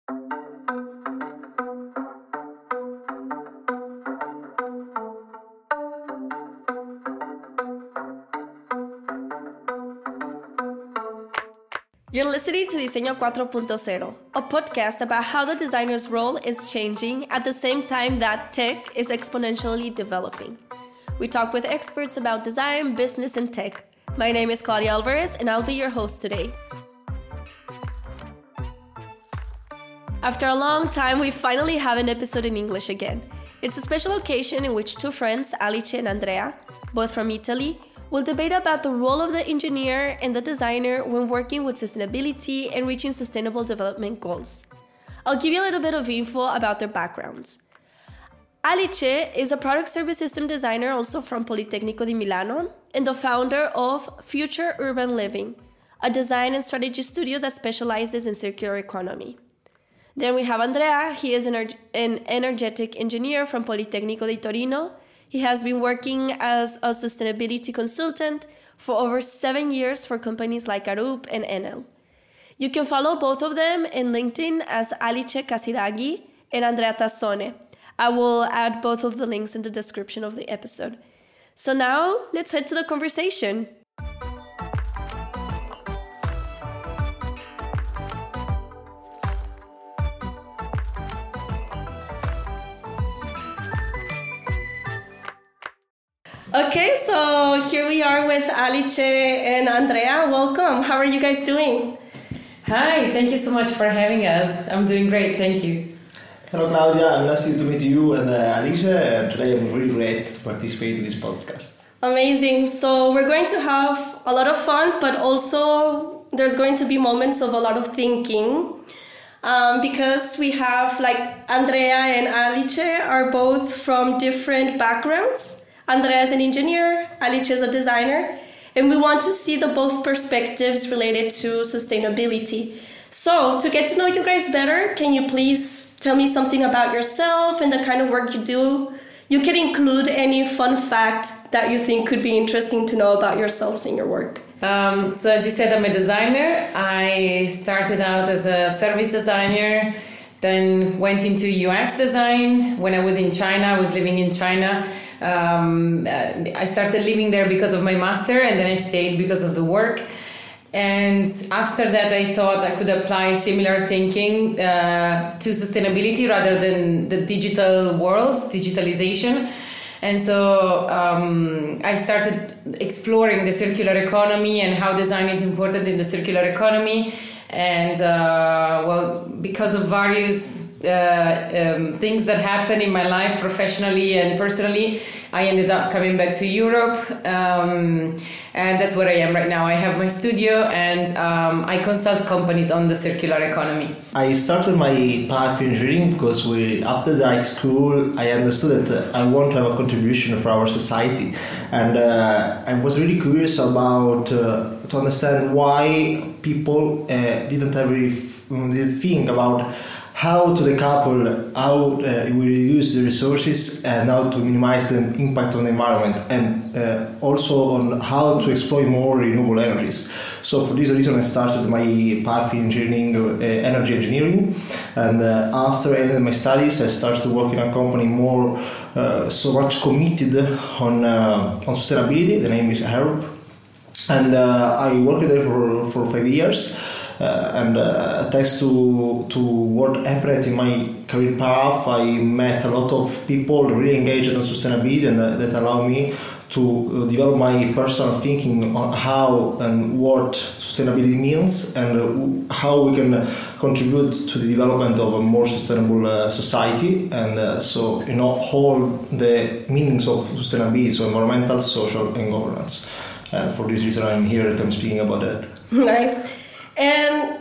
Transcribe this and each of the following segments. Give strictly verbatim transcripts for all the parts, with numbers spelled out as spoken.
You're listening to Diseño four point zero, a podcast about how the designer's role is changing at the same time that tech is exponentially developing. We talk with experts about design, business, and tech. My name is Claudia Alvarez, and I'll be your host today. After a long time, we finally have an episode in English again. It's a special occasion in which two friends, Alice and Andrea, both from Italy, will debate about the role of the engineer and the designer when working with sustainability and reaching sustainable development goals. I'll give you a little bit of info about their backgrounds. Alice is a product service system designer also from Politecnico di Milano and the founder of Future Urban Living, a design and strategy studio that specializes in circular economy. Then we have Andrea. He is an, an energetic engineer from Politecnico di Torino. He has been working as a sustainability consultant for over seven years for companies like Arup and Enel. You can follow both of them in LinkedIn as Alice Casiraghi and Andrea Tassone. I will add both of the links in the description of the episode. So now, let's head to the conversation. Okay, so here we are with Alice and Andrea. Welcome. How are you guys doing? Hi, thank you so much for having us. I'm doing great, thank you. Hello Claudia, I'm nice to meet you and uh, Alice, and today I'm really great to participate in this podcast. Amazing. So we're going to have a lot of fun, but also there's going to be moments of a lot of thinking. Um, because we have like Andrea and Alice are both from different backgrounds. Andrea is an engineer, Alice is a designer, and we want to see the both perspectives related to sustainability. So, to get to know you guys better, can you please tell me something about yourself and the kind of work you do? You can include any fun fact that you think could be interesting to know about yourselves and your work. Um, so, as you said, I'm a designer. I started out as a service designer, then went into U X design. When I was in China, I was living in China. Um, I started living there because of my master, and then I stayed because of the work. And after that, I thought I could apply similar thinking uh, to sustainability rather than the digital world, digitalization. And so um, I started exploring the circular economy and how design is important in the circular economy. And uh, well, because of various uh, um, things that happened in my life professionally and personally, I ended up coming back to Europe, um, and that's where I am right now. I have my studio, and um, I consult companies on the circular economy. I started my path in engineering because we, after the high school, I understood that I want to have a contribution for our society, and uh, I was really curious about uh, to understand why people uh, didn't ever did think about how to decouple, how uh, we reduce the resources and how to minimize the impact on the environment, and uh, also on how to exploit more renewable energies. So for this reason I started my path in engineering, uh, energy engineering, and uh, after ending my studies I started to work in a company more uh, so much committed on, uh, on sustainability. The name is Arup, and uh, I worked there for, for five years. Uh, and uh, thanks to to what happened in my career path, I met a lot of people really engaged in sustainability, and uh, that allowed me to uh, develop my personal thinking on how and what sustainability means, and uh, how we can contribute to the development of a more sustainable uh, society. And uh, so, you know, all the meanings of sustainability, so environmental, social, and governance. And for this reason, I'm here and I'm speaking about that. Nice. And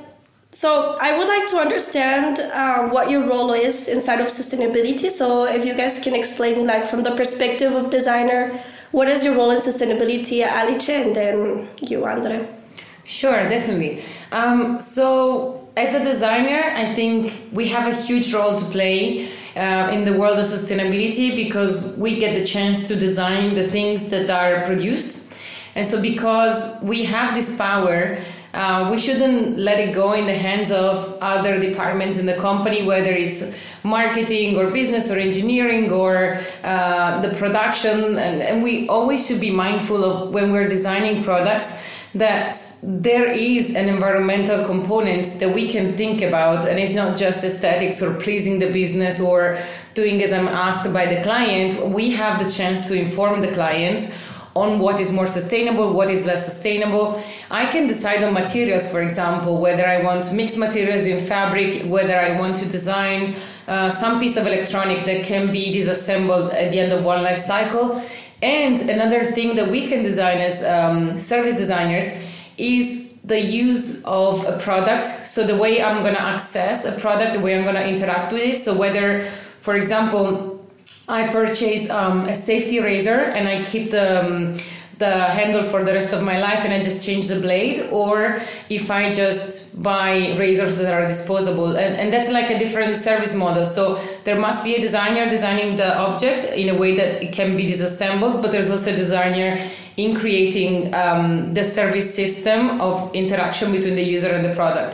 so I would like to understand uh, what your role is inside of sustainability. So if you guys can explain, like, from the perspective of designer, what is your role in sustainability, Alice, and then you, Andre? Sure, definitely. Um, so as a designer, I think we have a huge role to play uh, in the world of sustainability, because we get the chance to design the things that are produced. And so because we have this power, uh, we shouldn't let it go in the hands of other departments in the company, whether it's marketing or business or engineering or uh, the production. And, and we always should be mindful of when we're designing products that there is an environmental component that we can think about, and it's not just aesthetics or pleasing the business or doing as I'm asked by the client. We have the chance to inform the client on what is more sustainable, what is less sustainable. I can decide on materials, for example, whether I want mixed materials in fabric, whether I want to design uh, some piece of electronic that can be disassembled at the end of one life cycle. And another thing that we can design as um, service designers is the use of a product. So the way I'm going to access a product, the way I'm going to interact with it. So whether, for example, I purchase um, a safety razor and I keep the um, the handle for the rest of my life and I just change the blade, or if I just buy razors that are disposable, and, and that's like a different service model. So there must be a designer designing the object in a way that it can be disassembled, but there's also a designer in creating um, the service system of interaction between the user and the product.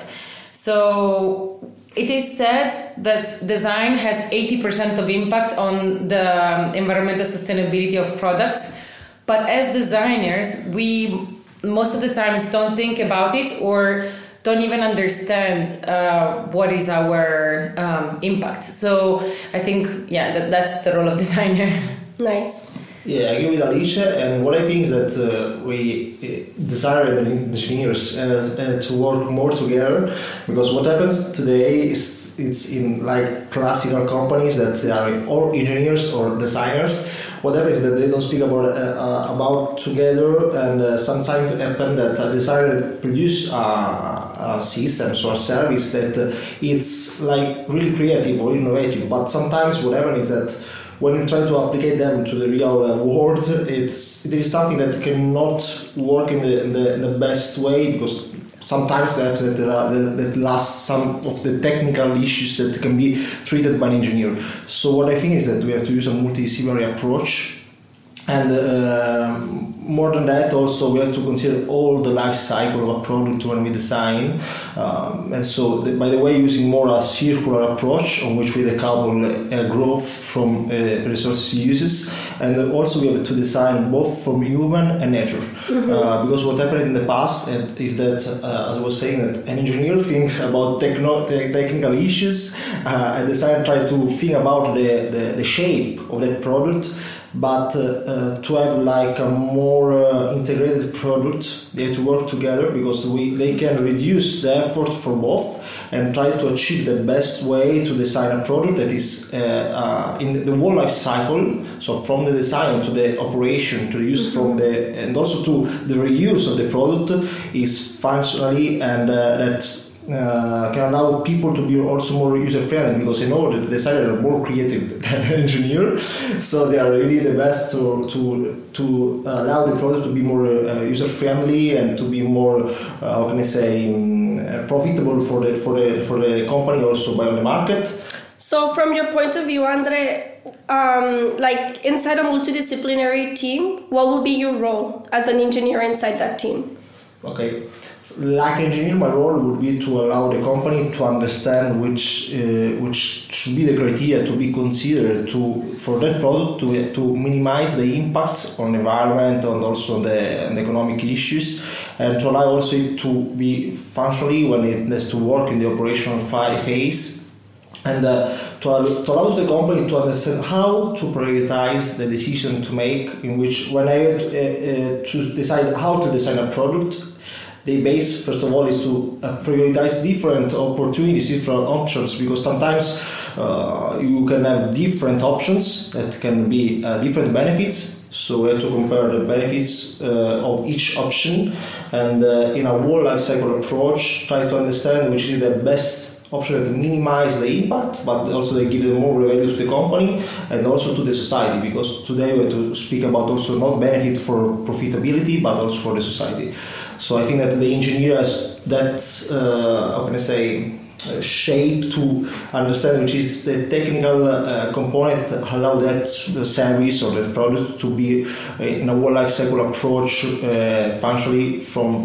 So it is said that design has eighty percent of impact on the environmental sustainability of products. But as designers, we most of the times don't think about it or don't even understand uh, what is our um, impact. So I think, yeah, that, that's the role of designer. Nice. Yeah, I agree with Alicia, and what I think is that uh, we uh, desire the engineers uh, uh, to work more together, because what happens today is it's in like classical companies that they are all engineers or designers. What happens is that they don't speak about uh, uh, about together, and uh, sometimes it happens that a designer produce uh, a system or a service that uh, it's like really creative or innovative, but sometimes what happens is that when you try to apply them to the real uh, world, it's there is something that cannot work in the in the, in the best way, because sometimes that that, uh, that that lasts some of the technical issues that can be treated by an engineer. So what I think is that we have to use a multidisciplinary approach, and uh, more than that, also we have to consider all the life cycle of a product when we design. Um, and so, the, by the way, using more a circular approach on which we decouple uh, growth from uh, resources uses, and then also we have to design both from human and nature. Mm-hmm. Uh, because what happened in the past is that, uh, as I was saying, that an engineer thinks about techno- te- technical issues, uh, and designer try to think about the, the, the shape of that product. But uh, uh, to have like a more uh, integrated product, they have to work together, because we they can reduce the effort for both and try to achieve the best way to design a product that is uh, uh, in the whole life cycle. So from the design to the operation to the use mm-hmm. from the and also to the reuse of the product is functionally, and uh, that. Uh, can allow people to be also more user-friendly, because I know that the designers are more creative than an engineer, so they are really the best to to to allow the product to be more uh, user-friendly and to be more, uh, how can I say, um, profitable for the for the for the company, also by the market. So, from your point of view, Andre, um, like inside a multidisciplinary team, what will be your role as an engineer inside that team? Okay. Like engineer, my role would be to allow the company to understand which uh, which should be the criteria to be considered to for that product to to minimize the impact on the environment and also the, the economic issues, and to allow also it to be functionally when it has to work in the operational phase, and uh, to, to allow the company to understand how to prioritize the decision to make, in which when I have to, uh, uh, to decide how to design a product. The base, first of all, is to uh, prioritize different opportunities, different options, because sometimes uh, you can have different options that can be uh, different benefits. So we have to compare the benefits uh, of each option, and uh, in a whole life cycle approach, try to understand which is the best option to minimize the impact, but also they give them more value to the company and also to the society, because today we have to speak about also not benefit for profitability, but also for the society. So I think that the engineer has that, uh, how can I say, uh, shape to understand which is the technical uh, component that allow that service or that product to be uh, in a whole life cycle approach uh, functionally from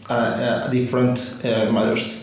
uh, uh, different uh, matters.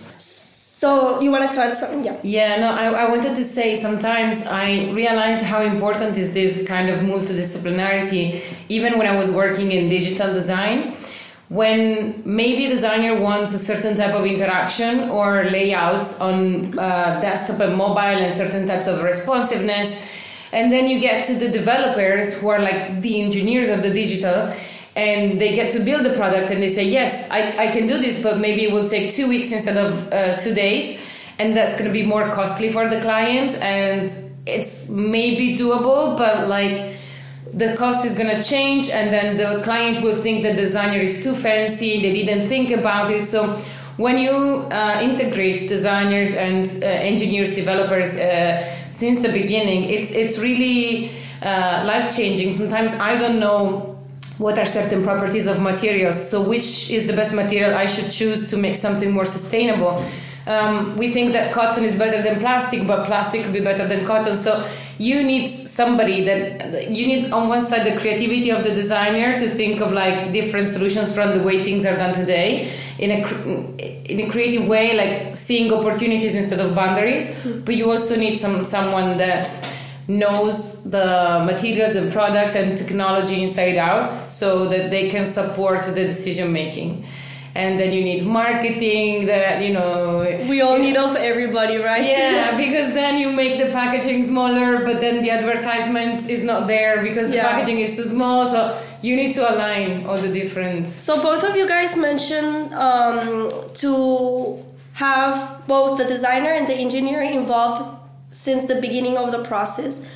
So you wanted to add something? Yeah. Yeah, no, I, I wanted to say sometimes I realized how important is this kind of multidisciplinarity, even when I was working in digital design. When maybe a designer wants a certain type of interaction or layouts on uh, desktop and mobile and certain types of responsiveness, and then you get to the developers who are like the engineers of the digital, and they get to build the product and they say, yes, I, I can do this, but maybe it will take two weeks instead of uh, two days. And that's going to be more costly for the client. And it's maybe doable, but like the cost is going to change. And then the client will think the designer is too fancy. They didn't think about it. So when you uh, integrate designers and uh, engineers, developers uh, since the beginning, it's, it's really uh, life-changing. Sometimes I don't know what are certain properties of materials, so which is the best material I should choose to make something more sustainable. Um, we think that cotton is better than plastic, but plastic could be better than cotton. So you need somebody that, you need on one side the creativity of the designer to think of like different solutions from the way things are done today in a, in a creative way, like seeing opportunities instead of boundaries. Mm-hmm. But you also need some someone that knows the materials and products and technology inside out so that they can support the decision making. And then you need marketing that, you know... We all need of everybody, right? Yeah, because then you make the packaging smaller, but then the advertisement is not there because the yeah. packaging is too small. So you need to align all the different... So both of you guys mentioned um, to have both the designer and the engineer involved since the beginning of the process.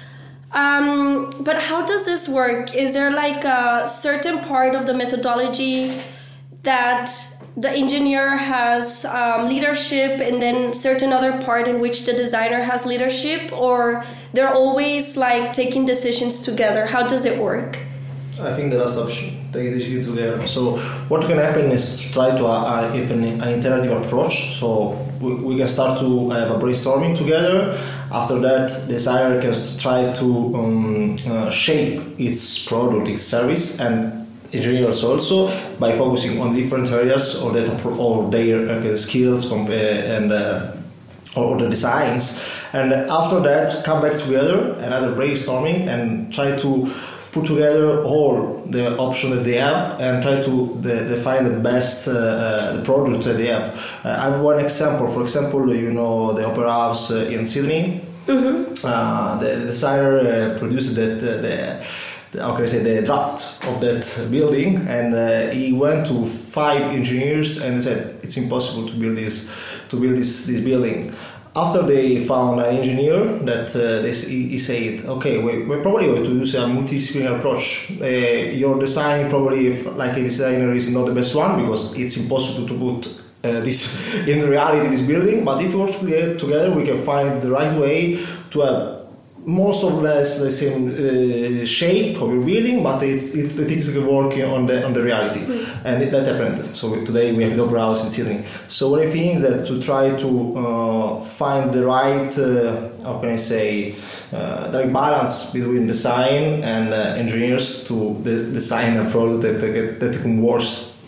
Um, but how does this work? Is there like a certain part of the methodology that the engineer has um, leadership and then certain other part in which the designer has leadership, or they're always like taking decisions together? How does it work? I think the last option, take decisions together. So what can happen is try to uh, have an, an iterative approach. So we, we can start to have a brainstorming together. After that, the designer can try to um, uh, shape its product, its service, and engineers also by focusing on different areas or that or their uh, skills and uh, or the designs. And after that, come back together, another brainstorming, and try to put together all the options that they have and try to the, define the best uh, uh, the product that they have. Uh, I have one example. For example, you know the Opera House uh, in Sydney. Mm-hmm. Uh, the, the designer uh, produced that the, the, the how can I say the draft of that building, and uh, he went to five engineers and said it's impossible to build this to build this this building. After they found an engineer that uh, they, he said, okay, we, we're probably going to use a multidisciplinary approach. Uh, your design probably, like a designer, is not the best one because it's impossible to put uh, this in reality, this building. But if we work together, we can find the right way to have most or less the same uh, shape of your building, but it's, it's the things that work on the on the reality, mm-hmm. and it, that happened. So today we have the Opera House in Sydney. So what I think is that to try to uh, find the right, uh, how can I say, uh, the right balance between design and uh, engineers to the design a product that that, that can work.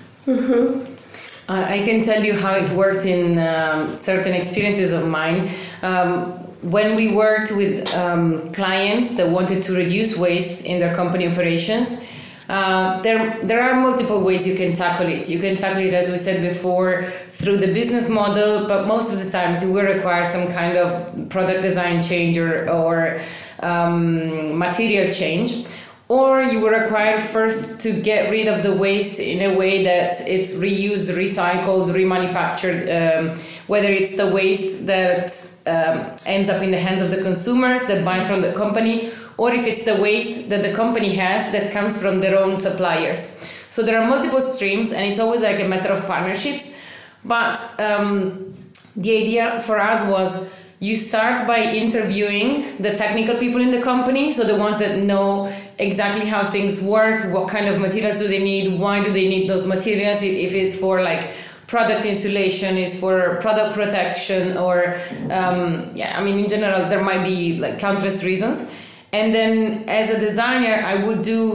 Mm-hmm. I can tell you how it worked in um, certain experiences of mine. Um, When we worked with um, clients that wanted to reduce waste in their company operations, uh, there there are multiple ways you can tackle it. You can tackle it, as we said before, through the business model, but most of the times you will require some kind of product design change or, or um, material change. Or you will require first to get rid of the waste in a way that it's reused, recycled, remanufactured, um, whether it's the waste that um, ends up in the hands of the consumers that buy from the company, or if it's the waste that the company has that comes from their own suppliers. So there are multiple streams, and it's always like a matter of partnerships. But um, the idea for us was you start by interviewing the technical people in the company, so the ones that know exactly how things work, what kind of materials do they need, why do they need those materials, if it's for like product insulation, is for product protection, or um, yeah, I mean in general there might be like countless reasons. And then as a designer, I would do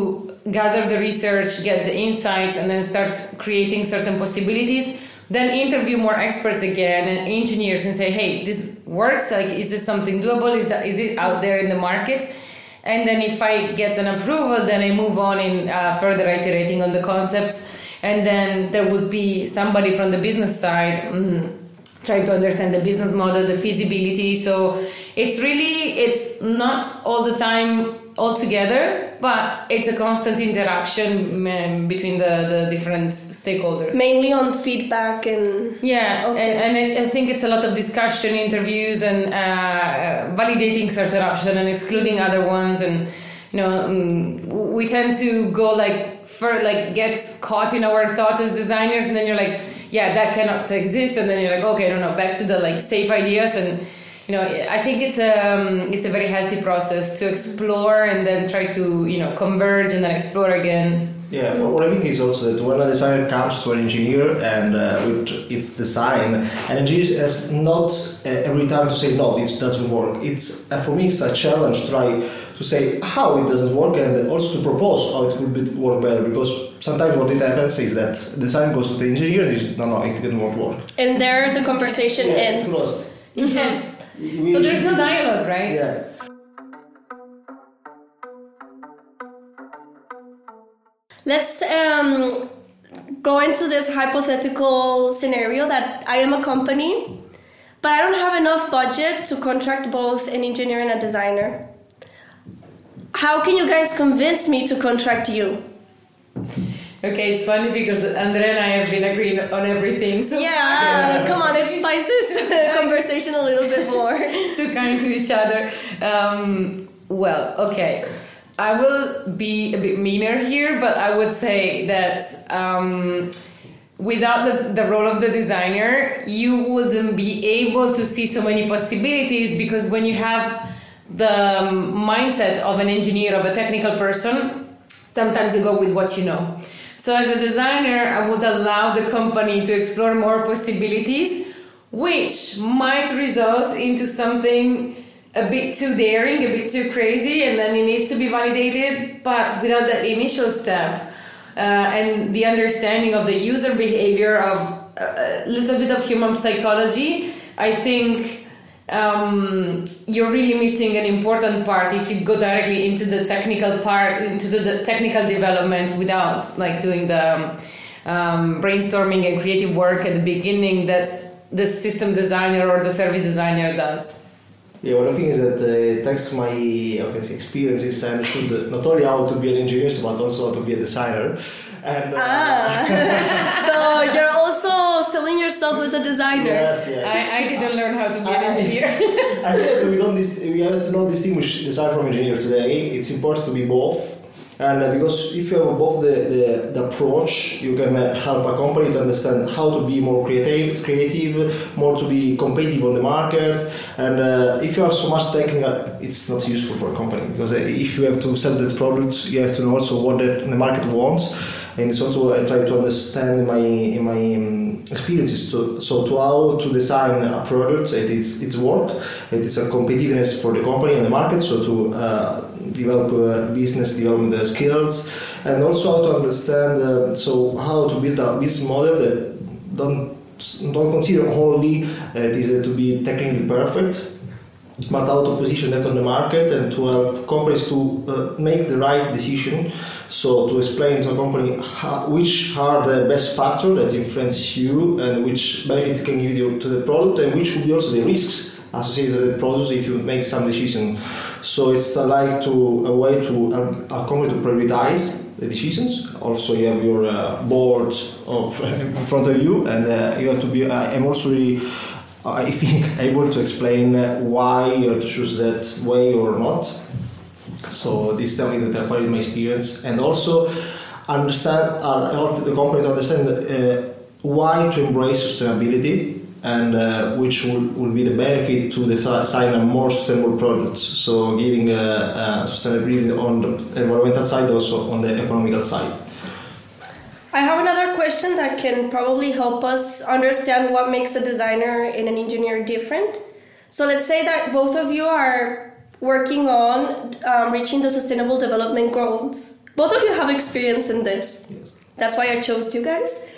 gather the research, get the insights, and then start creating certain possibilities. Then interview more experts again and engineers and say, hey, this works. Like, is this something doable? Is that is it out there in the market? And then if I get an approval, then I move on in uh, further iterating on the concepts. And then there would be somebody from the business side mm, trying to understand the business model, the feasibility. So it's really, it's not all the time all together, but it's a constant interaction um, between the, the different stakeholders. Mainly on feedback and... Yeah, okay. and, and it, I think it's a lot of discussion, interviews, and uh, validating certain options and excluding other ones. And, you know, um, we tend to go like, for like get caught in our thoughts as designers, and then you're like, yeah, that cannot exist. And then you're like, okay, no, no, back to the like safe ideas. And you know, I think it's a um, it's a very healthy process to explore and then try to, you know, converge and then explore again. Yeah, well, what I think is also that when a designer comes to an engineer and uh, with its design, an engineer has not uh, every time to say no, it doesn't work. It's uh, for me it's a challenge to try to say how it doesn't work and also to propose how it would be, work better, because sometimes what it happens is that design goes to the engineer and is, no, no, it won't work. And there the conversation yeah, ends. Closed. Yes. So there's no dialogue, right? Yeah. Let's um, go into this hypothetical scenario that I am a company, but I don't have enough budget to contract both an engineer and a designer. How can you guys convince me to contract you? Okay, it's funny because Andrea and I have been agreeing on everything. So yeah, come on, let's spice this conversation a little bit more. Too kind to each other. Um, well, okay. I will be a bit meaner here, but I would say that um, without the, the role of the designer, you wouldn't be able to see so many possibilities, because when you have the um, mindset of an engineer, of a technical person, sometimes you go with what you know. So as a designer, I would allow the company to explore more possibilities, which might result into something a bit too daring, a bit too crazy, and then it needs to be validated. But without that initial step uh, and the understanding of the user behavior, of a little bit of human psychology, I think um, you're really missing an important part if you go directly into the technical part, into the, the technical development without like doing the um, um, brainstorming and creative work at the beginning that the system designer or the service designer does. Yeah, what I think is that uh, thanks to my how can I say, experiences, I understood not only how to be an engineer, but also how to be a designer. And, uh, ah, so you're also selling yourself as a designer. Yes, yes. I, I didn't learn how to be an I, engineer. I think that we don't dis- we have to not distinguish design from engineer today. It's important to be both. And uh, because if you have both the, the, the approach, you can uh, help a company to understand how to be more creative, creative, more to be competitive on the market. And uh, if you are so much technical, it's not useful for a company, because uh, if you have to sell that product, you have to know also what the, the market wants. And it's also I try to understand in my in my um, experiences. To, so to how to design a product, it is it's work, it is a competitiveness for the company and the market. So to uh, develop uh, business development skills, and also how to understand uh, so how to build a business model that don't don't consider only uh, it is uh, to be technically perfect, but how to position that on the market and to help companies to uh, make the right decision. So to explain to a company how, which are the best factors that influence you and which benefit can give you to the product, and which will be also the risks associated with the product if you make some decision. So it's uh, like to a way to uh, a company to prioritize the decisions. Also, you have your uh, board of, in front of you, and uh, you have to be. Uh, I'm also really, uh, I think, able to explain uh, why you have to choose that way or not. So this is something that I quite in my experience, and also understand. Uh, help the company to understand uh, why to embrace sustainability, and uh, which will, will be the benefit to design a more sustainable product. So giving uh, uh, sustainability on the environmental side, also on the economical side. I have another question that can probably help us understand what makes a designer and an engineer different. So let's say that both of you are working on um, reaching the sustainable development goals both of you have experience in this. Yes. That's why I chose you guys.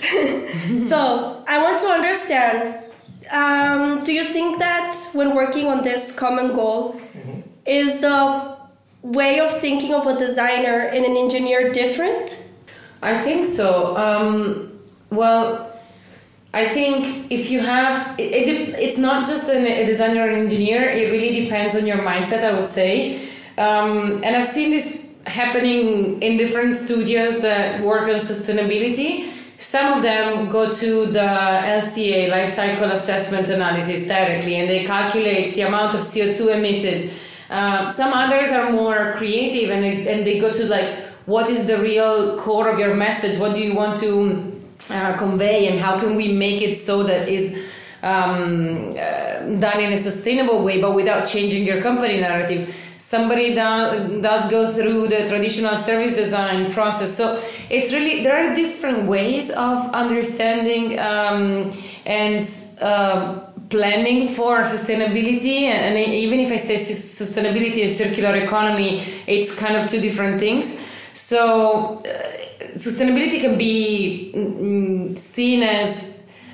So I want to understand, um, do you think that when working on this common goal, mm-hmm. is the way of thinking of a designer and an engineer different? I think so. Um, well, I think if you have, it, it, it's not just an, a designer or an engineer, it really depends on your mindset, I would say. Um, and I've seen this happening in different studios that work on sustainability. Some of them go to the L C A, life cycle assessment analysis, directly, and they calculate the amount of C O two emitted. Uh, some others are more creative, and they, and they go to like, what is the real core of your message? What do you want to uh, convey, and how can we make it so that is um, uh, done in a sustainable way, but without changing your company narrative? Somebody do, does go through the traditional service design process. So it's really, there are different ways of understanding um, and uh, planning for sustainability. And even if I say sustainability and circular economy, it's kind of two different things. So uh, sustainability can be mm, seen as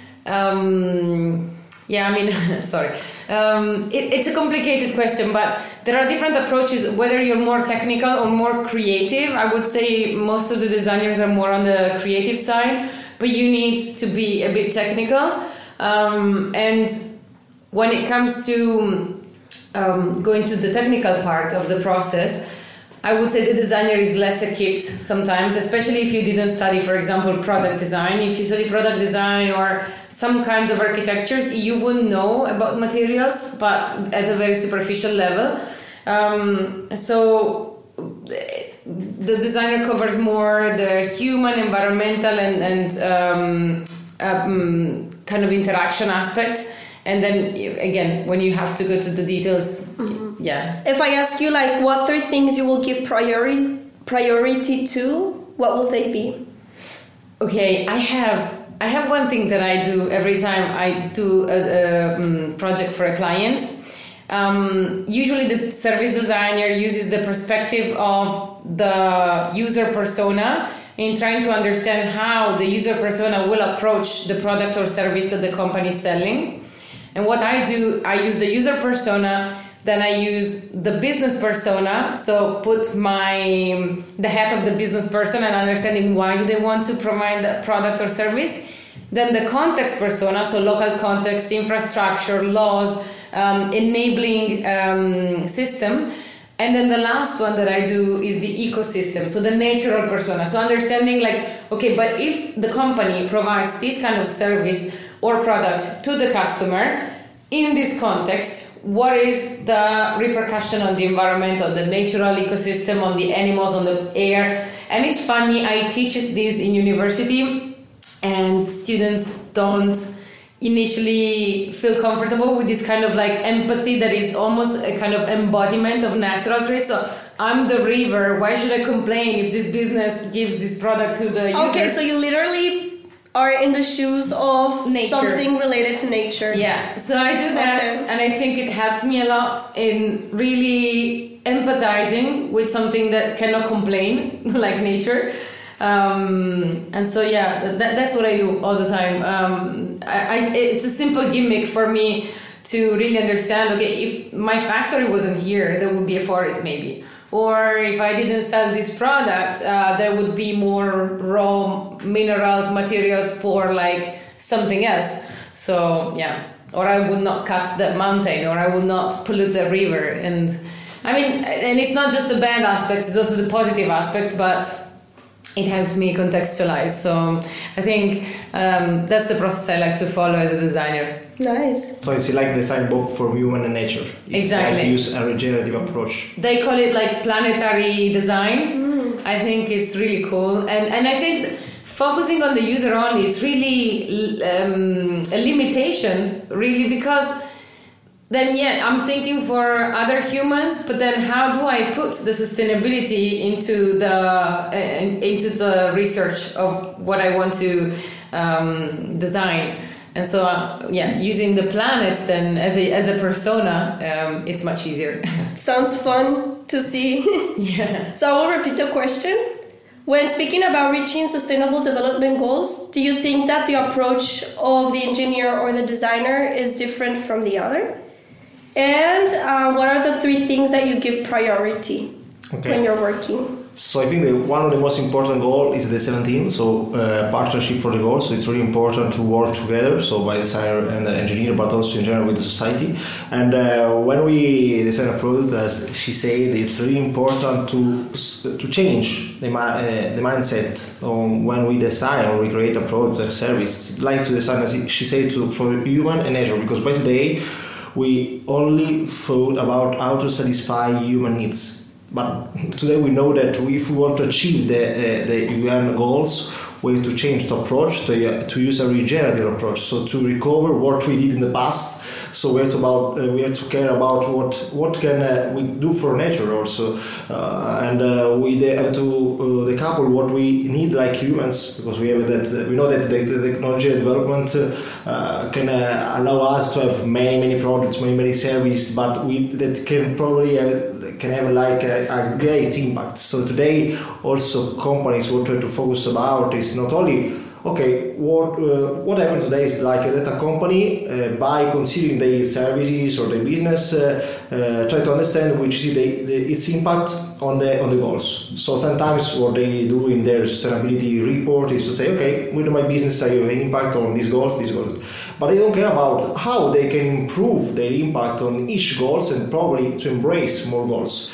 um, Yeah, I mean, sorry. Um, it, it's a complicated question, but there are different approaches, whether you're more technical or more creative. I would say most of the designers are more on the creative side, but you need to be a bit technical. Um, and when it comes to um, going to the technical part of the process, I would say the designer is less equipped sometimes, especially if you didn't study, for example, product design. If you study product design or some kinds of architectures, you wouldn't know about materials, but at a very superficial level. Um, so the designer covers more the human, environmental, and, and um, um, kind of interaction aspect. And then again, when you have to go to the details, mm-hmm. yeah. If I ask you, like, what three things you will give priority priority to, what will they be? Okay, I have I have one thing that I do every time I do a, a um, project for a client. Um, usually, the service designer uses the perspective of the user persona in trying to understand how the user persona will approach the product or service that the company is selling. And what I do, I use the user persona, then I use the business persona, so put my the head of the business person and understanding why do they want to provide the product or service. Then the context persona, so local context, infrastructure, laws, um, enabling um, system. And then the last one that I do is the ecosystem, so the natural persona. So understanding like, okay, but if the company provides this kind of service or product to the customer, in this context, what is the repercussion on the environment, on the natural ecosystem, on the animals, on the air? And it's funny, I teach this in university, and students don't initially feel comfortable with this kind of like empathy that is almost a kind of embodiment of natural traits. So I'm the river, why should I complain if this business gives this product to the user? Okay, so you literally are in the shoes of nature. Something related to nature. Yeah, so I do that, okay. And I think it helps me a lot in really empathizing with something that cannot complain, like nature. Um, and so yeah, that, that's what I do all the time. Um, I, I, it's a simple gimmick for me to really understand, okay, if my factory wasn't here, there would be a forest maybe. Or if I didn't sell this product, uh, there would be more raw minerals, materials for like something else. So yeah, or I would not cut that mountain, or I would not pollute the river. And I mean, and it's not just the bad aspect, it's also the positive aspect, but it helps me contextualize. So I think um, that's the process I like to follow as a designer. Nice. So it's like design both for human and nature. It's exactly. Like use a regenerative approach. They call it like planetary design. Mm. I think it's really cool. And and I think focusing on the user only, it's really um, a limitation, really, because then, yeah, I'm thinking for other humans, but then how do I put the sustainability into the uh, into the research of what I want to um, design? And so, uh, yeah, using the planets then as a as a persona, um, it's much easier. Sounds fun to see. Yeah. So I will repeat the question. When speaking about reaching sustainable development goals, do you think that the approach of the engineer or the designer is different from the other? And uh, what are the three things that you give priority okay. when you're working? So I think that one of the most important goals is the seventeen, so uh, partnership for the goals. So it's really important to work together, so by designer and the engineer, but also in general with the society. And uh, when we design a product, as she said, it's really important to to change the uh, the mindset on when we design or we create a product or service. Like to design, as she said, to, for human and nature, because by today we only thought about how to satisfy human needs. But today we know that we, if we want to achieve the uh, the U N goals, we have to change the approach to uh, to use a regenerative approach. So to recover what we did in the past. So we have to about uh, we have to care about what what can uh, we do for nature also, uh, and uh, we have to uh, decouple what we need like humans, because we have that uh, we know that the, the technology development uh, can uh, allow us to have many many products, many many services, but we that can probably have, can have like a, a great impact. So today also companies what try to focus about is not only okay, what uh, what happened today is like that a company uh, by considering their services or their business uh, uh, try to understand which is the, the, its impact on the on the goals. So sometimes what they do in their sustainability report is to say, okay, with my business I have an impact on these goals, these goals. But they don't care about how they can improve their impact on each goals and probably to embrace more goals.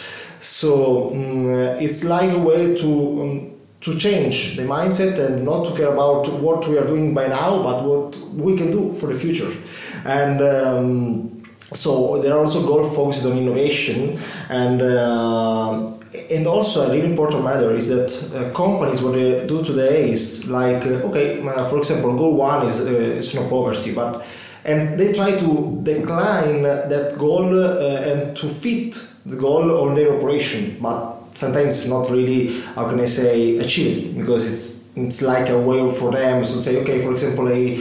So um, it's like a way to um, to change the mindset and not to care about what we are doing by now, but what we can do for the future. And um, so there are also goals focused on innovation, and uh, and also a really important matter is that uh, companies, what they do today is like uh, okay, uh, for example, goal one is, uh, is no poverty, but and they try to decline that goal uh, and to fit the goal on their operation, but sometimes it's not really, how can I say, achieved, because it's it's like a way for them to say, okay, for example, I,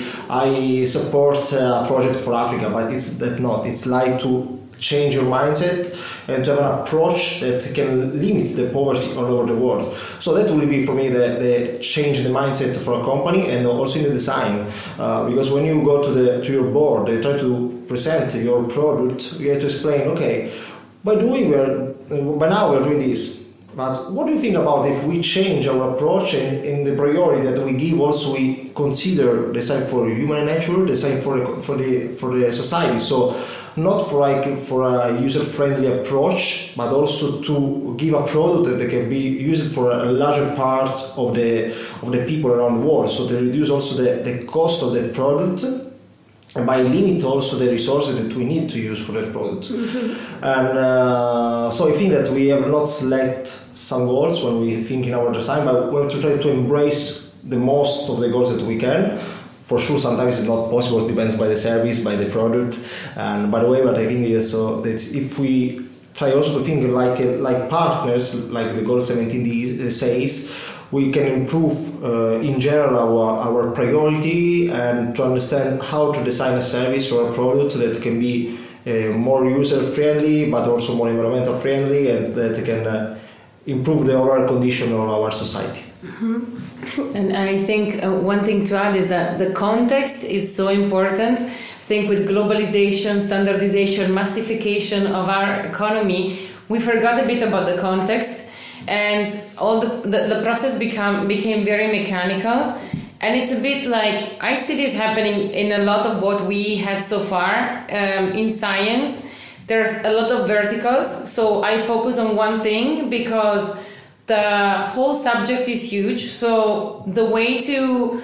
I support a project for Africa, but it's that not. It's like to change your mindset and to have an approach that can limit the poverty all over the world. So that will be for me the, the change in the mindset for a company, and also in the design, uh, because when you go to the to your board, they try to present your product, you have to explain, okay, by doing we're by now we're doing this. But what do you think about if we change our approach and in the priority that we give, also we consider design for human and nature, design for the, for the for the society. So not for like for a user-friendly approach, but also to give a product that can be used for a larger part of the of the people around the world. So to reduce also the, the cost of that product, and by limit also the resources that we need to use for that product. Mm-hmm. And uh, so I think that we have not select some goals when we think in our design, but we have to try to embrace the most of the goals that we can. For sure, sometimes it's not possible. It depends by the service, by the product, and by the way. But I think so that if we try also to think like like partners, like the goal seventeen says, we can improve uh, in general our our priority and to understand how to design a service or a product that can be uh, more user friendly, but also more environmental friendly, and that can uh, improve the overall condition of our society. Mm-hmm. And I think uh, one thing to add is that the context is so important. I think with globalization, standardization, massification of our economy, we forgot a bit about the context, and all the the, the process become became very mechanical. And it's a bit like, I see this happening in a lot of what we had so far um, in science. There's a lot of verticals, so I focus on one thing because the whole subject is huge. So the way to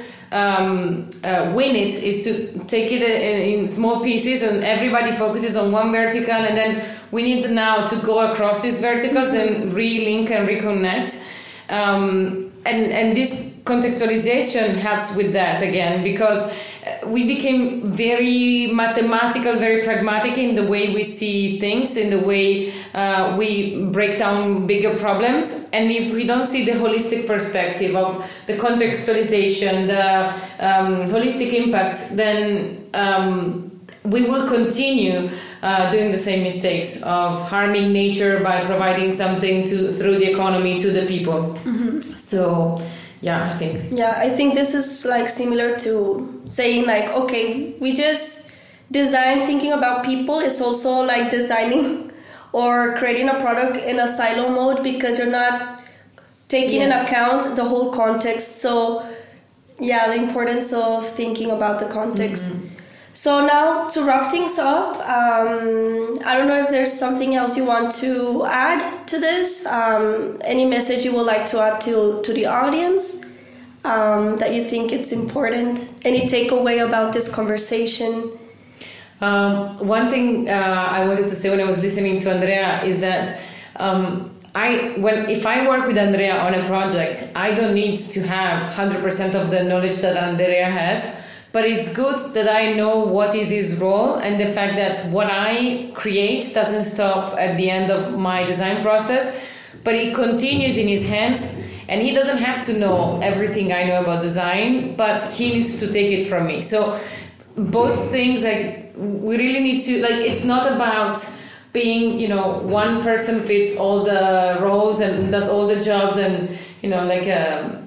um, uh, win it is to take it in, in small pieces, and everybody focuses on one vertical, and then we need now to go across these verticals and re-link and reconnect. Um, and, and this contextualization helps with that again, because we became very mathematical, very pragmatic in the way we see things, in the way uh, we break down bigger problems. And if we don't see the holistic perspective of the contextualization, the um, holistic impact, then um, we will continue uh, doing the same mistakes of harming nature by providing something to through the economy to the people. Mm-hmm. So yeah, I think. Yeah, I think this is like similar to saying like, okay, we just design thinking about people. It's also like designing or creating a product in a silo mode, because you're not taking yes. into account the whole context. So yeah, the importance of thinking about the context. Mm-hmm. So now to wrap things up, um, I don't know if there's something else you want to add to this. Um, any message you would like to add to, to the audience um, that you think it's important? Any takeaway about this conversation? Um, one thing uh, I wanted to say when I was listening to Andrea is that um, I when if I work with Andrea on a project, I don't need to have one hundred percent of the knowledge that Andrea has. But it's good that I know what is his role, and the fact that what I create doesn't stop at the end of my design process, but it continues in his hands, and he doesn't have to know everything I know about design, but he needs to take it from me. So both things, like, we really need to, like, it's not about being, you know, one person fits all the roles and does all the jobs and, you know, like a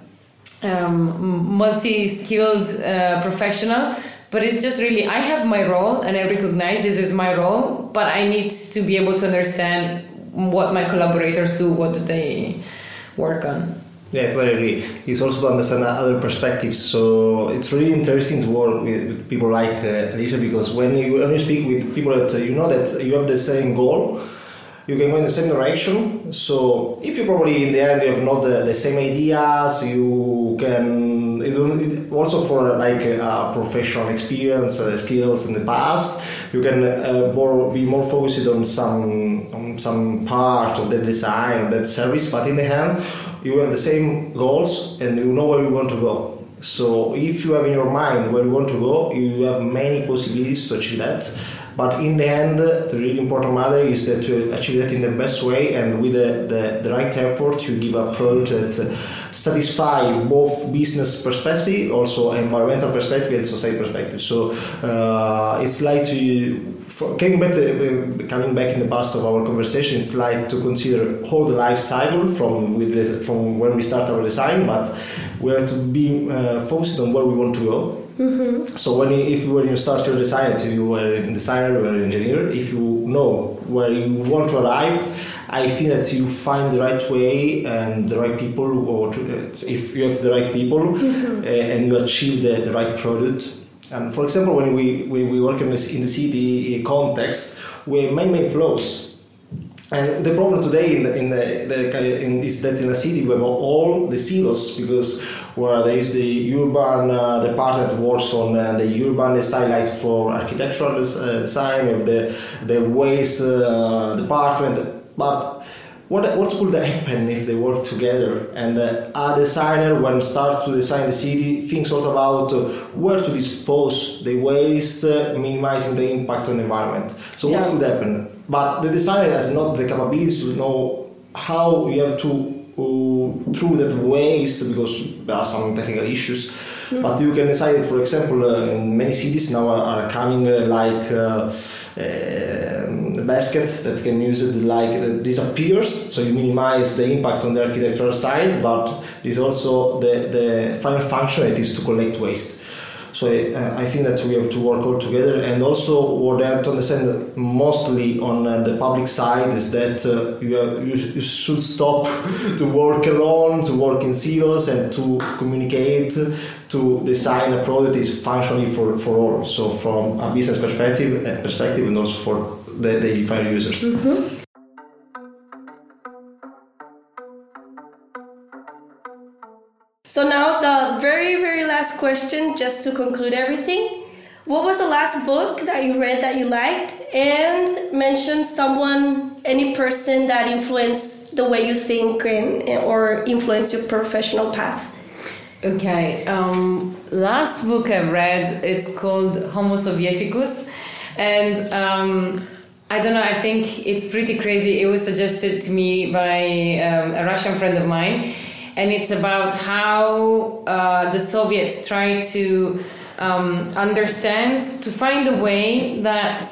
Um, multi-skilled uh, professional, but it's just really, I have my role and I recognize this is my role, but I need to be able to understand what my collaborators do, what do they work on. Yeah, I totally agree. It's also to understand other perspectives, so it's really interesting to work with, with people like uh, Alicia, because when you, when you speak with people that uh, you know that you have the same goal, you can go in the same direction. So if you probably in the end you have not the, the same ideas, you can it, also for like a professional experience, uh, skills in the past, you can uh, more be more focused on some on some part of the design of that service. But in the end, you have the same goals and you know where you want to go. So if you have in your mind where you want to go, you have many possibilities to achieve that. But in the end, the really important matter is that you achieve that in the best way, and with the, the, the right effort, you give a product that satisfy both business perspective, also environmental perspective and society perspective. So uh, it's like to, for, coming back to, coming back in the past of our conversation, it's like to consider whole the life cycle from with this, from when we start our design, but we have to be uh, focused on where we want to go. Mm-hmm. So when you, if when you start your design, if you were a designer or an engineer, if you know where you want to arrive, I think that you find the right way and the right people, or to, if you have the right people, mm-hmm. uh, and you achieve the, the right product. And for example, when we when we work in the, in the city context, we have many many flows. And the problem today in the, in the, the in is that in a city we have all the silos, because where there is the urban uh, department that works on uh, the urban design, like for architectural uh, design, of the the waste uh, department. But what what could happen if they work together? And uh, a designer, when start to design the city, thinks also about uh, where to dispose the waste, uh, minimizing the impact on the environment. So yeah. What could happen? But the designer has not the capability to know how you have to uh, through that waste, because there are some technical issues. Mm-hmm. But you can decide, for example, uh, in many cities now are, are coming uh, like uh, uh, a basket that can use it like uh, disappears, so you minimize the impact on the architectural side, but there's also the, the final function that is to collect waste. So uh, I think that we have to work all together, and also what I have to understand mostly on uh, the public side is that uh, you, have, you, you should stop to work alone, to work in silos, and to communicate, to design a product that is functionally for, for all. So from a business perspective, uh, perspective and also for the, the final users. Mm-hmm. So now the very, very last question, just to conclude everything. what was the last book that you read that you liked? And mention someone, any person that influenced the way you think and, or influenced your professional path. Okay, um, last book I read, it's called Homo Sovieticus, and um, I don't know, I think it's pretty crazy. It was suggested to me by um, a Russian friend of mine, and it's about how uh, the Soviets tried to um, understand, to find a way that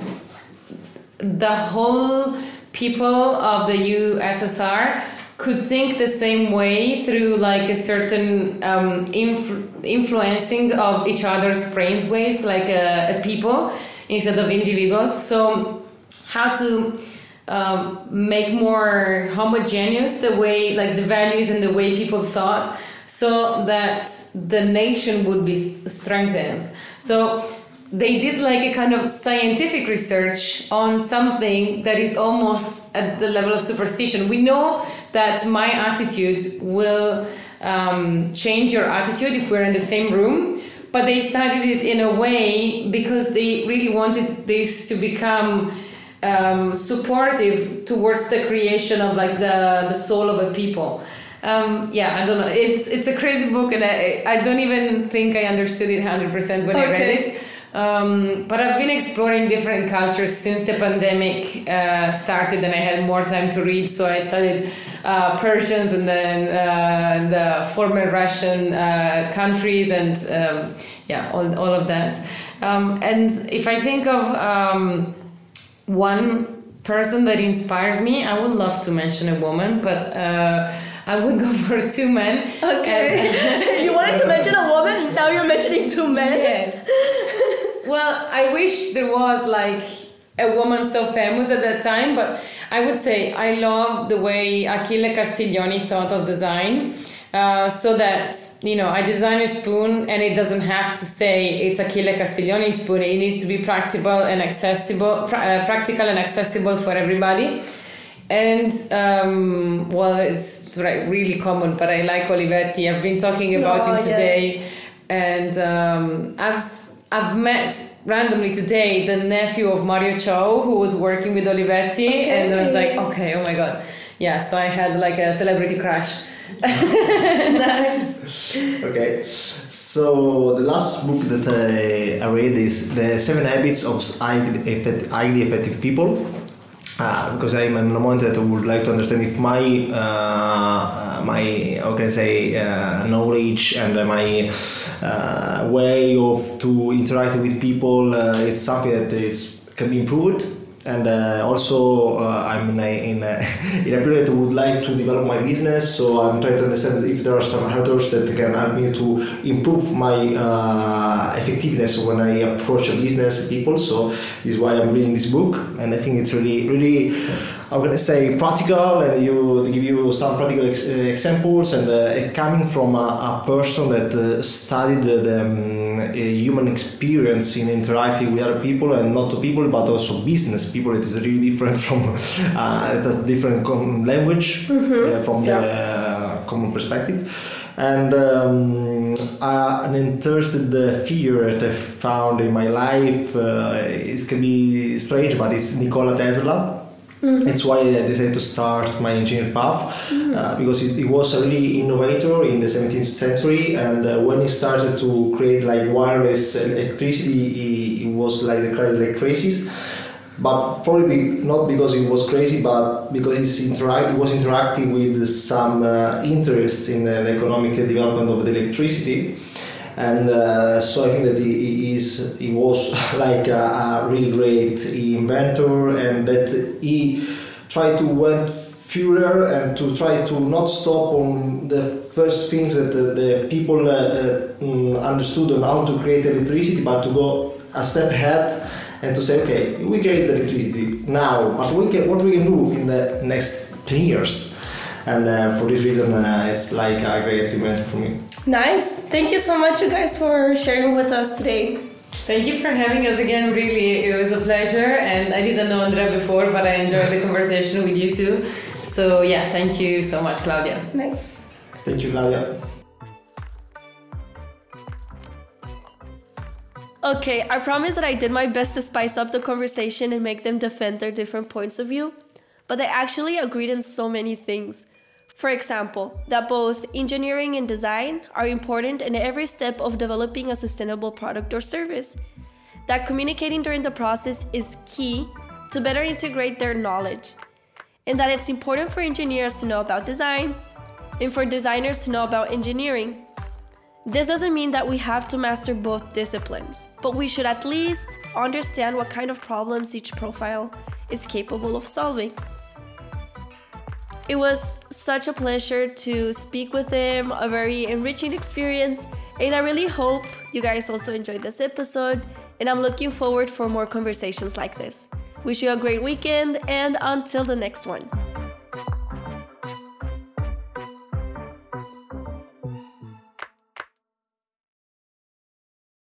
the whole people of the U S S R could think the same way through like a certain um, influ- influencing of each other's brainwaves, like a, a people instead of individuals. So how to um, make more homogeneous the way, like the values and the way people thought, so that the nation would be strengthened. So they did like a kind of scientific research on something that is almost at the level of superstition. We know that my attitude will um, change your attitude if we're in the same room, but they studied it in a way because they really wanted this to become um, supportive towards the creation of like the, the soul of a people. Um, yeah, I don't know. It's it's a crazy book, and I I don't even think I understood it one hundred percent when okay. I read it. Um, but I've been exploring different cultures since the pandemic uh, started, and I had more time to read. So I studied uh, Persians and then uh, the former Russian uh, countries, and um, yeah, all all of that. Um, and if I think of um, one person that inspires me, I would love to mention a woman, but. Uh, I would go for two men. Okay. You wanted to mention a woman, now you're mentioning two men? Yes. Well, I wish there was like a woman so famous at that time, but I would say I love the way Achille Castiglioni thought of design. Uh, so that, you know, I design a spoon and it doesn't have to say it's Achille Castiglioni spoon. It needs to be practical and accessible, pr- uh, practical and accessible for everybody. And, um, well, it's really common, but I like Olivetti. I've been talking about oh, him today. Yes. And um, I've I've met randomly today the nephew of Mario Ciao, who was working with Olivetti. Okay. And I was like, okay, oh my God. Yeah, so I had like a celebrity crush. Nice. Okay. So the last book that I, I read is The Seven Habits of Highly Effective, Highly Effective People. Uh, because I'm in a moment that I would like to understand if my uh, my how can I say uh, knowledge and uh, my uh, way of to interact with people uh, is something that is, can be improved. And uh, also uh, I'm in a, in, a, in a period that would like to develop my business, so I'm trying to understand if there are some helpers that can help me to improve my uh, effectiveness when I approach a business people. So this is why I'm reading this book, and I think it's really, really, I'm gonna say practical, and you they give you some practical ex- uh, examples, and uh, coming from a, a person that uh, studied the um, human experience in interacting with other people, and not people but also business people. It is really different from uh, it has different com- language mm-hmm. uh, from yeah. the uh, common perspective. And um, uh, an interested uh, figure that I found in my life, uh, it can be strange, but it's Nikola Tesla. Mm-hmm. It's why I decided to start my engineering path, mm-hmm. uh, because it, it was a really innovator in the seventeenth century, and uh, when he started to create like wireless electricity, he, he was like the like crazy. But probably not because he was crazy, but because he's interact, he was interacting with some uh, interest in uh, the economic development of the electricity. And uh, so I think that he, he is he was like a, a really great inventor, and that he tried to went further and to try to not stop on the first things that the, the people uh, uh, understood on how to create electricity, but to go a step ahead and to say, okay, we create electricity now, but we can, what we can do in the next ten years. And uh, for this reason, uh, it's like a great event for me. Nice. Thank you so much, you guys, for sharing with us today. Thank you for having us again. Really, it was a pleasure. And I didn't know Andrea before, but I enjoyed the conversation with you too. So yeah, thank you so much, Claudia. Nice. Thank you, Claudia. Okay, I promise that I did my best to spice up the conversation and make them defend their different points of view, but they actually agreed in so many things. For example, that both engineering and design are important in every step of developing a sustainable product or service. That communicating during the process is key to better integrate their knowledge. And that it's important for engineers to know about design and for designers to know about engineering. This doesn't mean that we have to master both disciplines, but we should at least understand what kind of problems each profile is capable of solving. It was such a pleasure to speak with him, a very enriching experience, and I really hope you guys also enjoyed this episode, and I'm looking forward for more conversations like this. Wish you a great weekend, and until the next one.